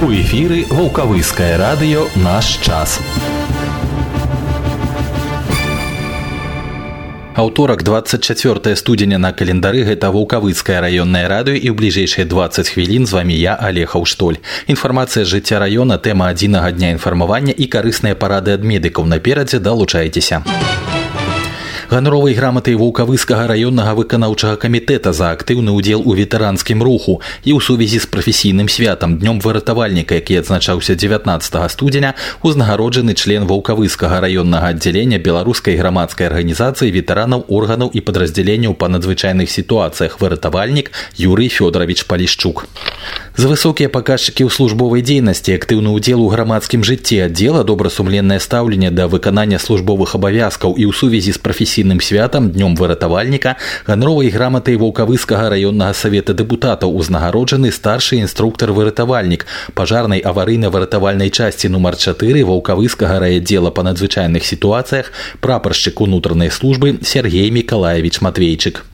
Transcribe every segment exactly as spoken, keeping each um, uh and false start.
У эфіры Ваўкавыскае радыё «Наш час». Аўторак, двадцать четвёртое студзеня на календары, гэта Ваўкавыскае раённае радыё, і ў бліжэйшыя двадцать хвілін з вамі я, Олег Аўштоль. Інфармацыя з жыцця раёна, тэма адзінага дня інфармавання і карысныя парады ад медыкаў. Наперадзе далучайцеся. Ганаровай граматай Ваўкавыскага раённага выканаўчага камітэта за актыўны ўдзел у ветэранскім руху і ў сувязі з прафесійным святам днём выратавальніка, які адзначаўся дзевятнаццатага студзеня, узнагароджаны член Ваўкавыскага раённага аддзялення беларускай грамадскай арганізацыі ветэранаў органаў і падраздзяленняў па надзвычайных сітуацыях выратавальнік Юрый Фёдорович Палішчук. За высокія паказчыкі ў службовай дзейнасці, актыўны ўдзел у грамадскім жыцці аддзела, добрасумленнае стаўленне да выканання службовых абавязкаў і ў сувязі з прафесійным святам днём выратавальніка ганаровай граматай Ваўкавыскага раённага савета дэпутатаў узнагароджаны старшы інструктар-выратавальнік пажарнай аварыйна-выратавальнай часці нумар чатыры Ваўкавыскага райаддзела па надзвычайных сітуацыях прапаршчык унутранай службы Сергей Мікалаевич Матвейчык.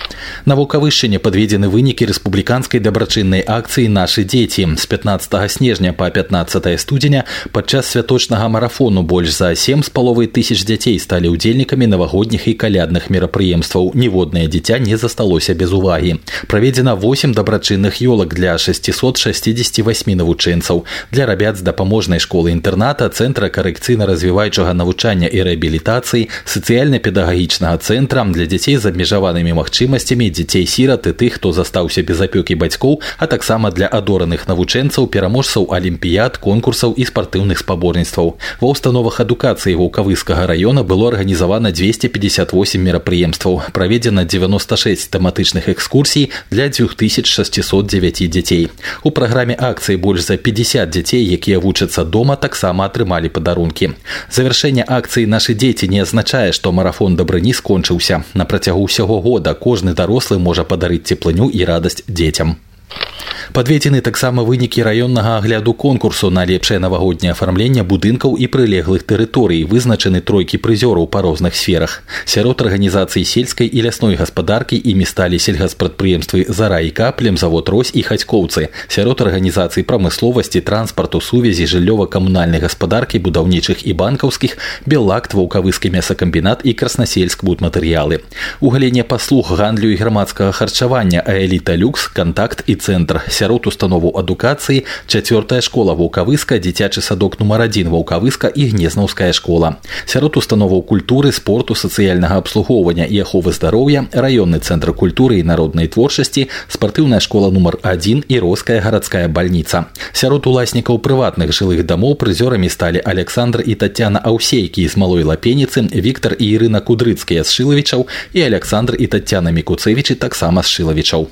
На Ваўкавышчыне падведзены вынікі рэспубліканскай дабрачыннай акцыі «Нашы дзеці». З пятнаццатага снежня па пятнаццатае студзеня падчас святочнага марафону больш за сем з паловай тысяч дзяцей сталі ўдзельнікамі навагодніх і калядных мерапрыемстваў. Ніводнае дзіця не засталося без увагі. Праведзена восем дабрачынных ёлак для шасцісот шасцідзесяці васьмі навучэнцаў. Для рабят з дапаможнай школы-інтэрната, цэнтра карэкцыйна-развіваючага навучання і рэабілітацыі, сацыяльна-педагагічнага цэнтра, для дзяцей з абмежаванымі магчымасцямі, дзяцей-сірат і тых, хто застаўся без апёкі бацькоў, а таксама для адораных навучэнцаў, пераможцаў алімпіяд, конкурсаў і спартыўных спаборніцтваў. Ва ўстановах адукацыі Ваўкавыскага раёна было арганізавана дзвесце пятьдесят восемь мерапрыемстваў. Праведзена девяносто шесть тэматычных экскурсій для дзвюх тысяч шасцісот дзевяці дзяцей. У праграме акцыі больш за пятьдесят дзяцей, якія вучацца дома, таксама атрымалі падарункі. Завяршэнне акцыі «Нашы дзеці» не азначае, што марафон дабрыні скончыўся. На працягу ўсяго года кожны дарослы можа падарыць цеплыню і радасць дзецям. Падведзены таксама вынікі раённага агляду конкурсу на лепшае навагодняе афармленне будынкаў і прылеглых тэрыторый. Вызначаны тройкі прызёраў па розных сферах. Сярод арганізацый сельскай і лясной гаспадаркі імі сталі сельгаспрадпрыемствы «Зара» і «К», племзавод «Рось» і «Хацькоўцы». Сярод арганізацый прамысловасці, транспарту, сувязі, жыллёва-камунальнай гаспадаркі, будаўнічых і банкаўскіх «Беллакт», Ваўкавыскі мясакамбінат і «Краснасельск» будматэрыялы. У галіне паслуг, гандлю і грамадскага харчавання «Аэліта Люкс», «Кантакт» і «Цэнтр». Сярод установаў адукацыі чацвёртая школа Ваўкавыска, дзіцячы садок нумар адзін Ваўкавыска і Гнезнаўская школа. Сярод установаў культуры, спорту, сацыяльнага абслугоўвання і аховы здароўя, раённы цэнтр культуры і народнай творчасці, спартыўная школа нумар адзін і Роская гарадская бальніца. Сярод уласнікаў прыватных жылых дамоў прызёрамі сталі Александр і Тацяна Аўсейкі з Малой Лапеніцы, Віктар і Ірына Кудрыцкія з Шылавічаў і Александр і Тацяна Мікуцэвічы таксама з Шылавічаў.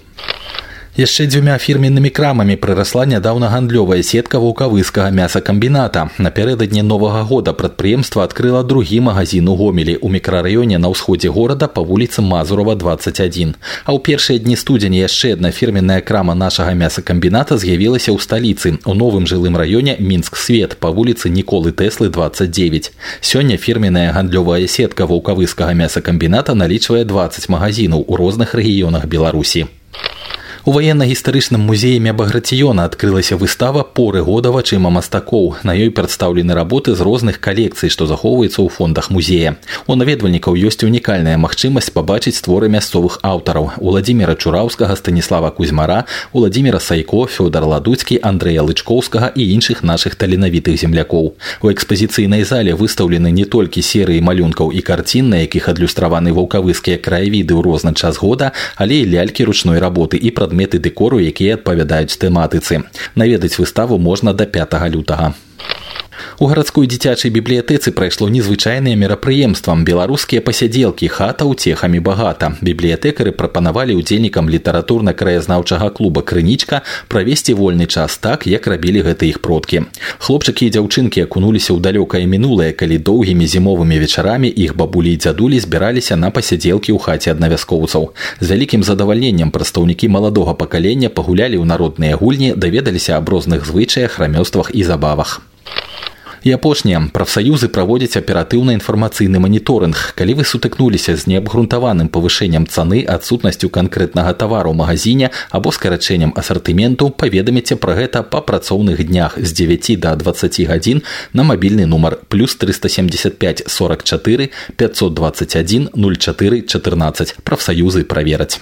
Яшчэ дзвюмя фірменнымі крамамі прырасла нядаўна гандлёвая сетка Ваўкавыскага мясакамбіната. Напярэдадні Новага года прадпрыемства адкрыла другі магазін у Гомелі у мікрараёне на ўсходзе горада па вуліцы Мазурова двадцать один. А ў першыя дні студзеня яшчэ адна фірменная крама нашага мясакамбіната з'явілася ў сталіцы, у новым жылым раёне Мінск-Свет па вуліцы Ніколы Тэслы двадцать девять. Сёння фірменная гандлёвая сетка Ваўкавыскага мясакамбіната налічвае двадцать магазінаў у розных рэгіёнах Беларусі. У ваенна-гістарычным музеі Мябаграціёна адкрылася выстава «Поры года вачыма мастакоў». На ёй прадстаўлены работы з розных калекцый, што захоўваюцца ў фондах музея. У наведвальнікаў ёсць унікальная магчымасць пабачыць творы мясцовых аўтараў: Уладзіміра Чураўскага, Станіслава Кузьмара, Уладзіміра Сайко, Фёдар Ладуцкі, Андрэя Лычкоўскага і іншых нашых таленавітых землякоў. У экспазіцыйнай зале выстаўлены не толькі серыі малюнкаў і карцін, на якіх адлюстраваны ваўкавыскія краявіды ў розны час года, але і лялькі ручной работы і прадметы меты дэкору, якія адпавядаюць тэматыцы. Наведаць выставу можна да пятага лютага. У гарадской дзіцячай бібліятэцы прайшло незвычайнае мерапрыемства «Беларускія пасядзелкі. Хата ўцехамі багата». Бібліятэкары прапанавалі ўдзельнікам літаратурна-краязнаўчага клуба «Крынічка» правесці вольны час так, як рабілі гэта іх продкі. Хлопчыкі і дзяўчынкі акунуліся ў далёкае мінулае, калі доўгімі зімовымі вечарамі іх бабулі і дзядулі збіраліся на пасядзелкі ў хаце аднавяскоўцаў. З вялікім задавальненнем прадстаўнікі маладога пакалення пагулялі ў народныя гульні, даведаліся аб розных звычаях, рамёствах і забавах. І апошняе, прафсаюзы праводзяць аператыўны інфармацыйны маніторынг. Калі вы сутыкнуліся з неабгрунтаваным павышэннем цаны, адсутнасцю канкрэтнага тавару ў магазине або скарачэннем асартыменту, паведаміце пра гэта па працоўных днях з дзевяці да дваццаці гадзін на мабільны нумар плюс триста семьдесят пять сорок четыре пятьсот двадцать один ноль четыре четырнадцать. Прафсаюзы правераць.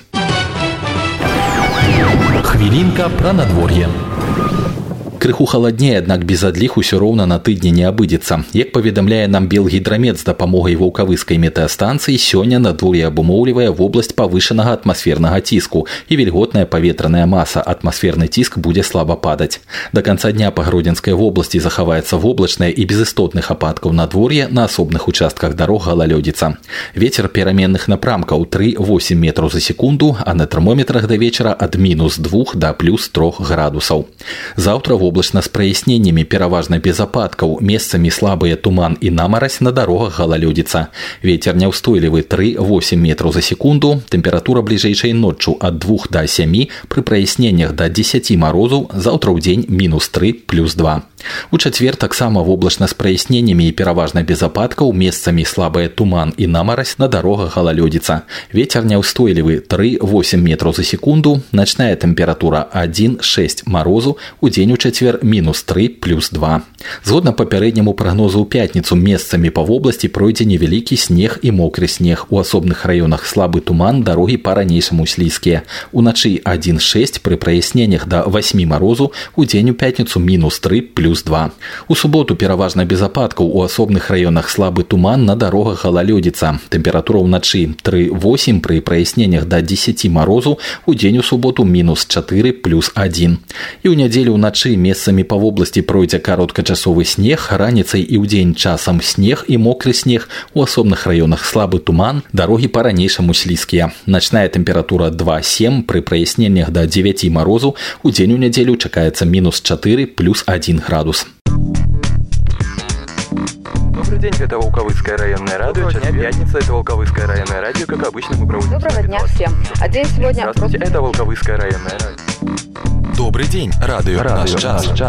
Хвілінка пра надвор'е. Крыху халаднее, аднак без адліг усё роўна на тыдні не абыдзецца. Як паведамляе нам Белгідрамет з дапамогай ваўкавыскай метэастанцыі, сёння надвор'е абумоўлівае вобласць павышанага атмасфернага ціску і вільготная паветраная маса, атмасферны ціск будзе слаба падаць. Да канца дня па Гродзенскай вобласці захаваецца воблачнае і без істотных ападкаў надвор'е, на асобных участках дарог галалёдзіца. Вецер пераменных напрамкаў тры восемь метраў за секунду, а на тэрмометрах да вечара ад мінус двух да плюс трох градусаў. Заўтра воблачна з праясненнямі, пераважна без ападкаў, месцамі слабыя туман і намарась, на дарогах галалёдзіца. Вецер няўстойлівы тры восемь метраў за секунду, тэмпература бліжэйшай ноччу ад двух да сямі, пры праясненнях да дзесяці марозу, заўтра ў дзень мінус тры плюс два. У чацвер таксама воблачна з праясненнямі і пераважна без ападкаў, месцамі слабая туман і намарась, на дарогах галалёдзіца. Вецер няўстойлівы тры восемь метраў за секунду, начная тэмпература адзін шэсць марозу, у дзень у чацвер мінус тры плюс два. Згодна папярэдняму прагнозу ў пятніцу месцамі па вобласці пройдзе невялікі снег і мокры снег. У асобных раёнах слабы туман, дарогі па-ранейшаму слізкія. Уначы адзін шэсць, пры праясненнях да васьмі марозу, у дзень у пятніцу мінус тры плюс два. У суботу пераважна без ападкаў, у асобных раёнах слабы туман, на дарогах галалёдзіца. Тэмпература ўначы тры восемь, пры праясненнях да дзесяці марозу, у дзень у суботу мінус чатыры плюс адзін. І ў нядзелю ўначы месцамі па вобласці пройдзе кароткачасовы снег, раніцай і ўдзень часам снег і мокры снег, у асобных раёнах слабы туман, дарогі па-ранейшаму слізкія. Начная тэмпература два сем, пры праясненнях да дзевяці марозу, у дзень у нядзелю чакаецца мінус чатыры плюс адзін градус. Добрый день, это Волковыцкое районное радио. Час пятница, это Волковыцкое районное радио. Как обычно, мы проводим... Доброго дня всем. А день сегодня... Здравствуйте, это Волковыцкое районное радио. Добрый день, радио, радио наш час. час.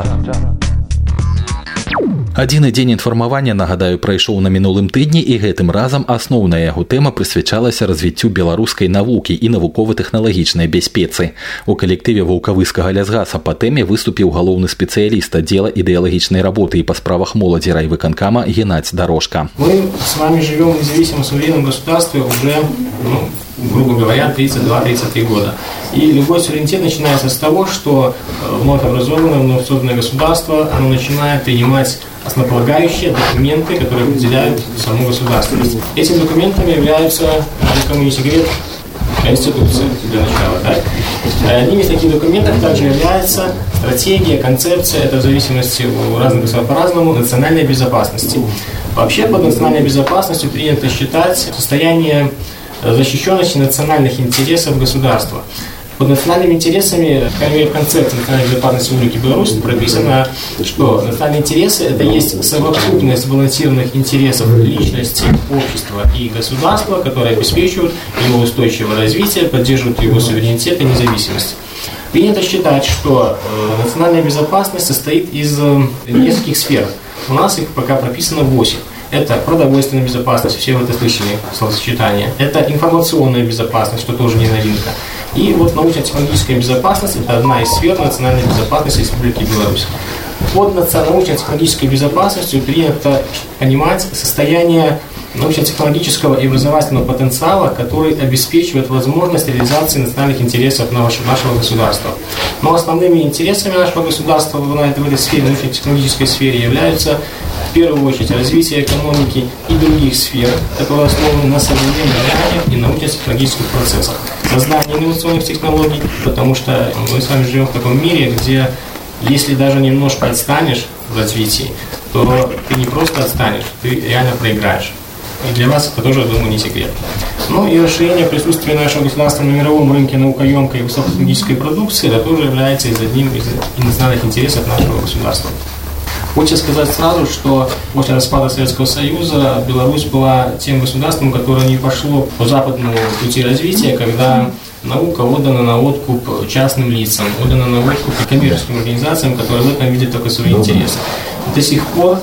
Адзіны дзень інфармавання, нагадаю, прайшоў на мінулым тыдні, і гэтым разам асноўная яго тэма прысвячалася развіццю беларускай навукі і навукова-тэхналагічнай бяспецы. У калектыве Ваўкавыскага лясгаса па тэме выступіў галоўны спецыяліст аддзела ідэалагічнай работы і па справах моладзі райвыканкама Геннадзь Дорожка. Мы с вами живем в независимом суверенном государстве уже, ну, грубо говоря, тридцать два тридцать три года. И любой суверенитет начинается с того, что вновь образованное, вновь созданное государство, оно начинает принимать основополагающие документы, которые определяют саму государственность. Этими документами являются, никому не секрет, Конституция для начала. Да? Одним из таких документов также является стратегия, концепция, это в зависимости у разных государств по-разному, национальной безопасности. Вообще под национальной безопасностью принято считать состояние защищенности национальных интересов государства. Под национальными интересами, по крайней мере, в концепции национальной безопасности Республики Беларусь прописано, что национальные интересы – это есть совокупность сбалансированных интересов личности, общества и государства, которые обеспечивают его устойчивое развитие, поддерживают его суверенитет и независимость. Принято считать, что э, национальная безопасность состоит из э, нескольких сфер. У нас их пока прописано восемь. Это продовольственная безопасность, все вы это слышали, словосочетание. Это информационная безопасность, что тоже не новинка. И вот научно-технологическая безопасность – это одна из сфер национальной безопасности Республики Беларусь. Под научно-технологической безопасностью принято понимать состояние научно-технологического и образовательного потенциала, который обеспечивает возможность реализации национальных интересов нашего государства. Но основными интересами нашего государства в этой сфере, научно-технологической сфере, являются в первую очередь развитие экономики и других сфер, которые основаны на современных знаниях и научно-технологических процессах. Создание инновационных технологий, потому что мы с вами живем в таком мире, где если даже немножко отстанешь в развитии, то ты не просто отстанешь, ты реально проиграешь. И для вас это тоже, я думаю, не секрет. Ну и расширение присутствия нашего государства на мировом рынке наукоемкой и высокотехнологической продукции, это тоже является одним из национальных интересов нашего государства. Хочется сказать сразу, что после распада Советского Союза Беларусь была тем государством, которое не пошло по западному пути развития, когда наука отдана на откуп частным лицам, отдана на откуп коммерческим организациям, которые в этом видят только свои интересы. До сих пор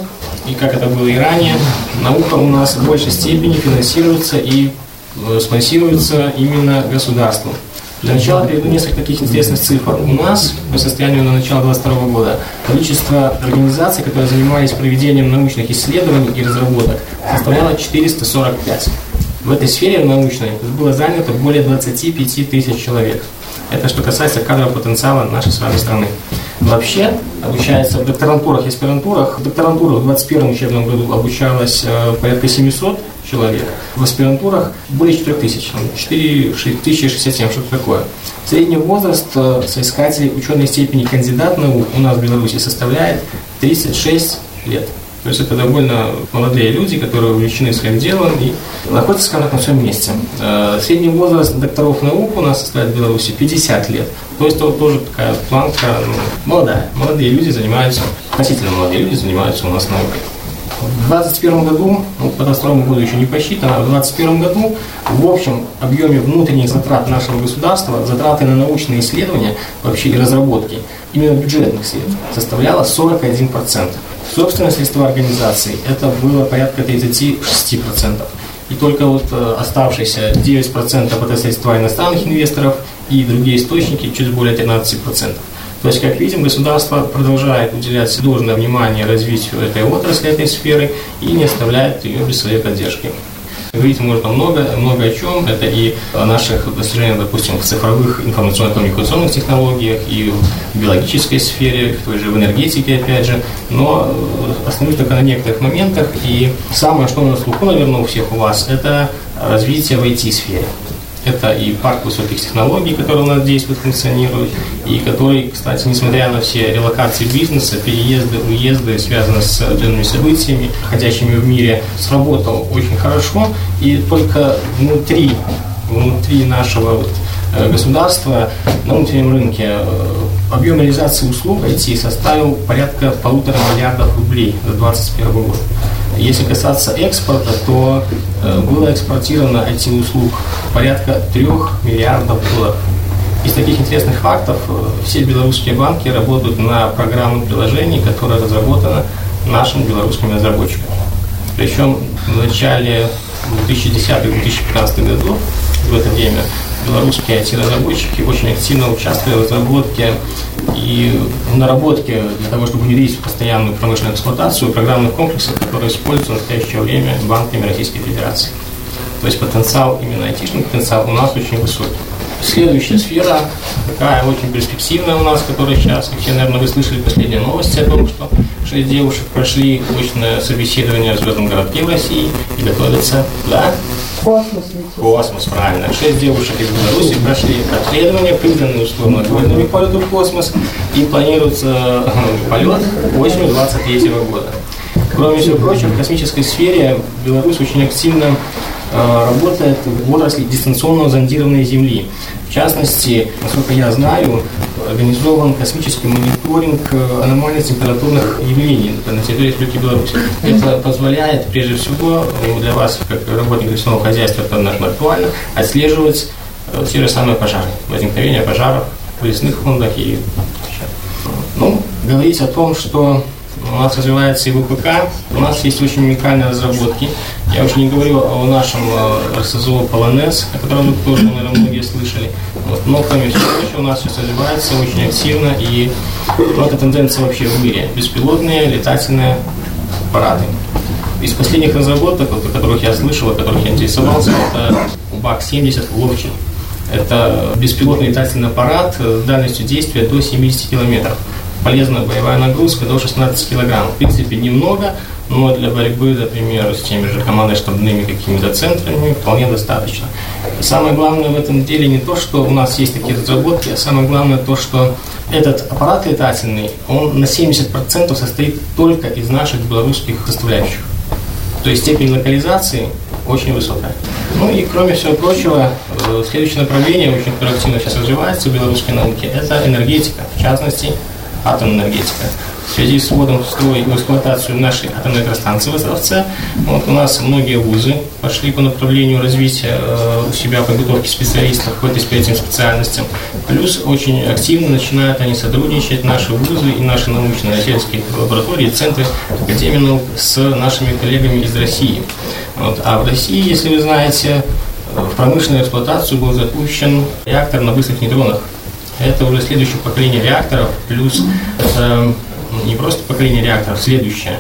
и как это было и ранее, наука у нас в большей степени финансируется и спонсируется именно государством. Для начала приведу несколько таких интересных цифр. У нас по состоянию на начало двадцать второго года количество организаций, которые занимались проведением научных исследований и разработок, составляло четыреста сорок пять. В этой сфере научной было занято более двадцать пять тысяч человек. Это что касается кадрового потенциала нашей с вами страны. Вообще обучается в докторантурах и аспирантурах. В докторантурах в двадцать первом учебном году обучалось э, порядка семьсот человек. В аспирантурах более четыре тысячи, четыре тысячи шестьдесят семь, что-то такое. Средний возраст э, соискателей ученой степени кандидат наук у нас в Беларуси составляет тридцать шесть лет. То есть это довольно молодые люди, которые увлечены своим делом и находятся, скажем так, на своем месте. Средний возраст докторов наук у нас составляет в Беларуси пятьдесят лет. То есть это вот тоже такая планка, ну, молодая. Молодые люди занимаются, относительно молодые люди занимаются у нас наукой. В двадцать первом году, ну, по двадцать второму году еще не посчитано, а в двадцать первом году в общем объеме внутренних затрат нашего государства, затраты на научные исследования вообще и разработки, именно бюджетных средств, составляло сорок один процент. Собственные средства организации это было порядка тридцать шесть процентов. И только вот э, оставшиеся девять процентов это средства иностранных инвесторов и другие источники чуть более тринадцать процентов. То есть, как видим, государство продолжает уделять должное внимание развитию этой отрасли, этой сферы и не оставляет ее без своей поддержки. Говорить можно много, много о чем. Это и о наших достижениях, допустим, в цифровых информационно-коммуникационных технологиях, и в биологической сфере, в той же в энергетике, опять же. Но остановлюсь только на некоторых моментах. И самое, что на слуху, наверное, у всех у вас, это развитие в ай ти-сфере. Это и парк высоких технологий, который у нас действует, функционирует, и который, кстати, несмотря на все релокации бизнеса, переезды, уезды, связанные с определенными событиями, проходящими в мире, сработал очень хорошо. И только внутри, внутри нашего вот, государства, на внутреннем рынке, объем реализации услуг ай ти составил порядка полутора миллиардов рублей за двадцать первый год. Если касаться экспорта, то э, было экспортировано ай ти-услуг порядка трех миллиардов долларов. Из таких интересных фактов э, все белорусские банки работают на программном приложении, которое разработано нашими белорусскими разработчиками. Причем в начале две тысячи десятого — две тысячи пятнадцатого годов, в это время, белорусские ай ти-разработчики очень активно участвовали в разработке и в наработке для того, чтобы внедрить в постоянную промышленную эксплуатацию программных комплексов, которые используются в настоящее время банками Российской Федерации. То есть потенциал, именно айтишный потенциал у нас очень высокий. Следующая сфера, такая очень перспективная у нас, которая сейчас, все, наверное, вы слышали последние новости о том, что шесть девушек прошли очное собеседование в звездном городке в России и готовятся, да? Космос. Космос, правильно. Шесть девушек из Беларуси прошли обследование, признанные условно-двойными к полету в космос, и планируется полет осенью двадцать третьего года. Кроме всего прочего, в космической сфере Беларусь очень активно э, работает в отрасли дистанционного зондирования Земли. В частности, насколько я знаю, организован космический мониторинг аномальных температурных явлений на территории Республики Беларусь. Это позволяет, прежде всего, для вас, как работников лесного хозяйства, это, наверное, актуально, отслеживать э, те же самые пожары, возникновение пожаров в лесных фондах. И, ну, говорить о том, что у нас развивается и вэ пэ ка, у нас есть очень уникальные разработки. Я уже не говорю о нашем эр эс зэ о Полонез, о котором вы тоже, наверное, многие слышали. Вот. Но, кроме всего прочего, у нас сейчас развивается очень активно, и ну, это тенденция вообще в мире. Беспилотные летательные аппараты. Из последних разработок, вот, о которых я слышал, о которых я интересовался, это бак семьдесят Ловчий. Это беспилотный летательный аппарат с дальностью действия до семьдесят километров. Полезная боевая нагрузка до шестнадцати килограмм. В принципе, немного, но для борьбы, например, с теми же командно-штабными какими-то центрами вполне достаточно. И самое главное в этом деле не то, что у нас есть такие разработки, а самое главное то, что этот аппарат летательный, он на семьдесят процентов состоит только из наших белорусских составляющих. То есть степень локализации очень высокая. Ну и кроме всего прочего, следующее направление, очень активно сейчас развивается в белорусской науке, это энергетика, в частности, атомная энергетика. В связи с вводом в строй и в эксплуатацию нашей атомной электростанции в Островце, вот у нас многие вузы пошли по направлению развития э, у себя подготовки специалистов по этим специальностям. Плюс очень активно начинают они сотрудничать, наши вузы и наши научно-исследовательские лаборатории, центры Академии наук с нашими коллегами из России. Вот. А в России, если вы знаете, в промышленную эксплуатацию был запущен реактор на быстрых нейтронах. Это уже следующее поколение реакторов, плюс это не просто поколение реакторов, следующее.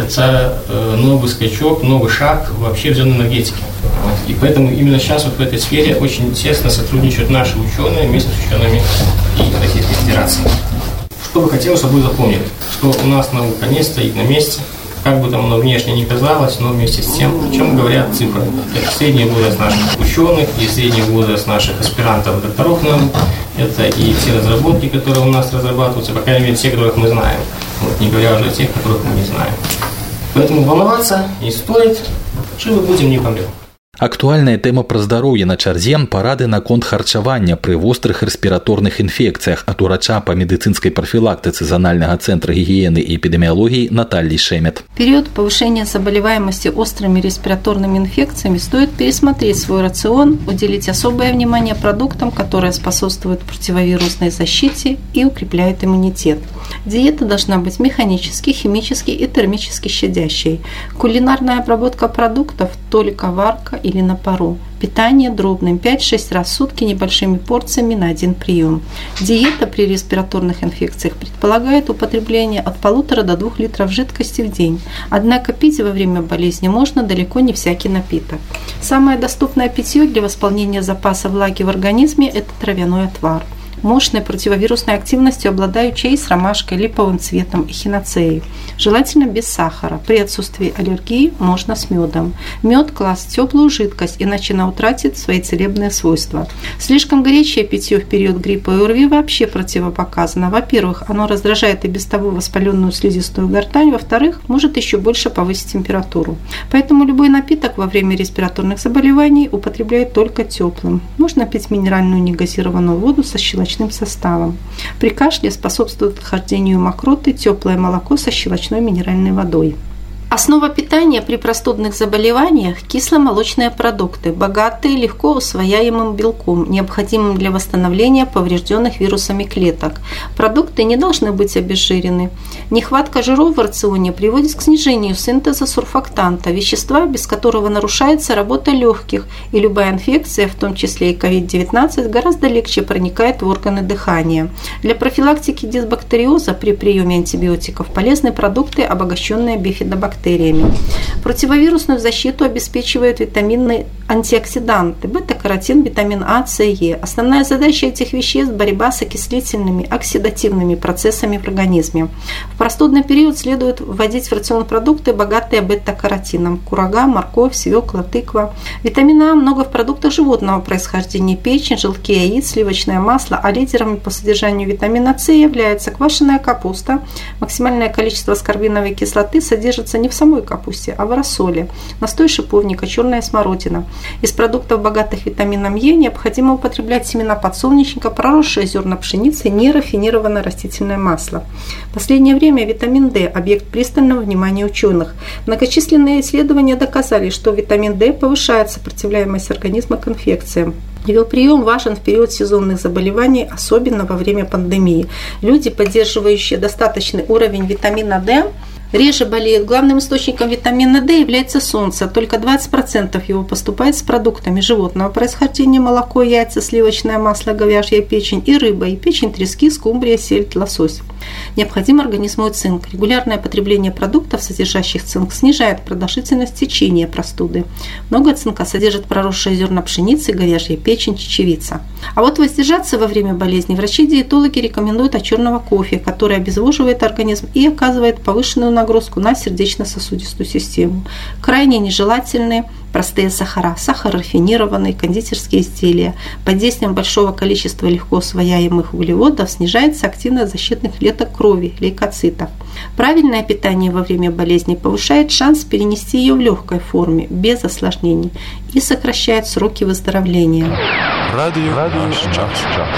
Это новый скачок, новый шаг вообще в зоне энергетики. И поэтому именно сейчас вот в этой сфере очень тесно сотрудничают наши ученые вместе с учеными и Российской Федерации. Что бы хотелось, чтобы вы запомнили, что у нас наука не стоит на месте, как бы там оно внешне не казалось, но вместе с тем, о чем говорят цифры. Это средний возраст наших ученых и средний возраст наших аспирантов, докторов наук. Это и те разработки, которые у нас разрабатываются, по крайней мере, те, которых мы знаем. Вот, не говоря уже о тех, которых мы не знаем. Поэтому волноваться не стоит, живы будем, не помрем. Актуальная тэма пра здароўе на чарзе парады наконт харчавання пры вострых рэспіраторных інфекцыях ад урача па медыцынскай прафілактыцы Зональнага центра гигиены и эпидемиологии Натальи Шемет. В период повышения заболеваемости острыми респираторными инфекциями стоит пересмотреть свой рацион, уделить особое внимание продуктам, которые способствуют противовирусной защите и укрепляют иммунитет. Диета должна быть механически, химически и термически щадящей. Кулинарная обработка продуктов – только варка или на пару. Питание дробным пять-шесть раз в сутки небольшими порциями на один прием. Диета при респираторных инфекциях предполагает употребление от полутора до двух литров жидкости в день. Однако пить во время болезни можно далеко не всякий напиток. Самое доступное питье для восполнения запаса влаги в организме – это травяной отвар. Мощной противовирусной активностью обладают чай с ромашкой, липовым цветом и хиноцеей. Желательно без сахара. При отсутствии аллергии можно с медом. Мед класть в теплую жидкость, иначе она утратит свои целебные свойства. Слишком горячее питье в период гриппа и ОРВИ вообще противопоказано. Во-первых, оно раздражает и без того воспаленную слизистую гортань. Во-вторых, может еще больше повысить температуру. Поэтому любой напиток во время респираторных заболеваний употребляют только теплым. Можно пить минеральную негазированную воду со щелочным составом. При кашле способствует отхождению мокроты теплое молоко со щелочной минеральной водой. Основа питания при простудных заболеваниях – кисломолочные продукты, богатые легко усвояемым белком, необходимым для восстановления поврежденных вирусами клеток. Продукты не должны быть обезжирены. Нехватка жиров в рационе приводит к снижению синтеза сурфактанта, вещества, без которого нарушается работа легких, и любая инфекция, в том числе и ковид девятнадцать, гораздо легче проникает в органы дыхания. Для профилактики дисбактериоза при приеме антибиотиков полезны продукты, обогащенные бифидобактериями. Противовирусную защиту обеспечивают витаминные антиоксиданты – бета-каротин, витамин А, С, Е. Основная задача этих веществ – борьба с окислительными, оксидативными процессами в организме. В простудный период следует вводить в рацион продукты, богатые бета-каротином – курага, морковь, свекла, тыква. Витамина А много в продуктах животного происхождения – печень, желтки яиц, сливочное масло, а лидерами по содержанию витамина С является квашеная капуста. Максимальное количество аскорбиновой кислоты содержится не в самой капусте, а в рассоле, настой шиповника, черная смородина. Из продуктов, богатых витамином Е, необходимо употреблять семена подсолнечника, проросшие зерна пшеницы, нерафинированное растительное масло. В последнее время витамин D – объект пристального внимания ученых. Многочисленные исследования доказали, что витамин D повышает сопротивляемость организма к инфекциям. Его прием важен в период сезонных заболеваний, особенно во время пандемии. Люди, поддерживающие достаточный уровень витамина D, реже болеют. Главным источником витамина D является солнце. Только двадцать процентов его поступает с продуктами животного происхождения: молоко, яйца, сливочное масло, говяжья печень и рыба, и печень трески, скумбрия, сельдь, лосось. Необходим организму цинк. Регулярное потребление продуктов, содержащих цинк, снижает продолжительность течения простуды. Много цинка содержит проросшие зерна пшеницы, говяжья печень, чечевица. А вот воздержаться во время болезни врачи-диетологи рекомендуют от черного кофе, который обезвоживает организм и оказывает повышенную нагрузку на сердечно-сосудистую систему. Крайне нежелательны простые сахара, сахар рафинированный, кондитерские изделия. Под действием большого количества легко усвояемых углеводов снижается активность защитных клеток крови, лейкоцитов. Правильное питание во время болезни повышает шанс перенести ее в легкой форме, без осложнений, и сокращает сроки выздоровления. Радио, радио, час, час.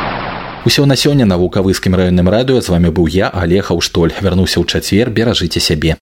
Усё на сёння на Вулкавыскім раённым радыё. З вами быў я, Алег Аўштоль. Вярнуся ў чацвер, беражыце сябе.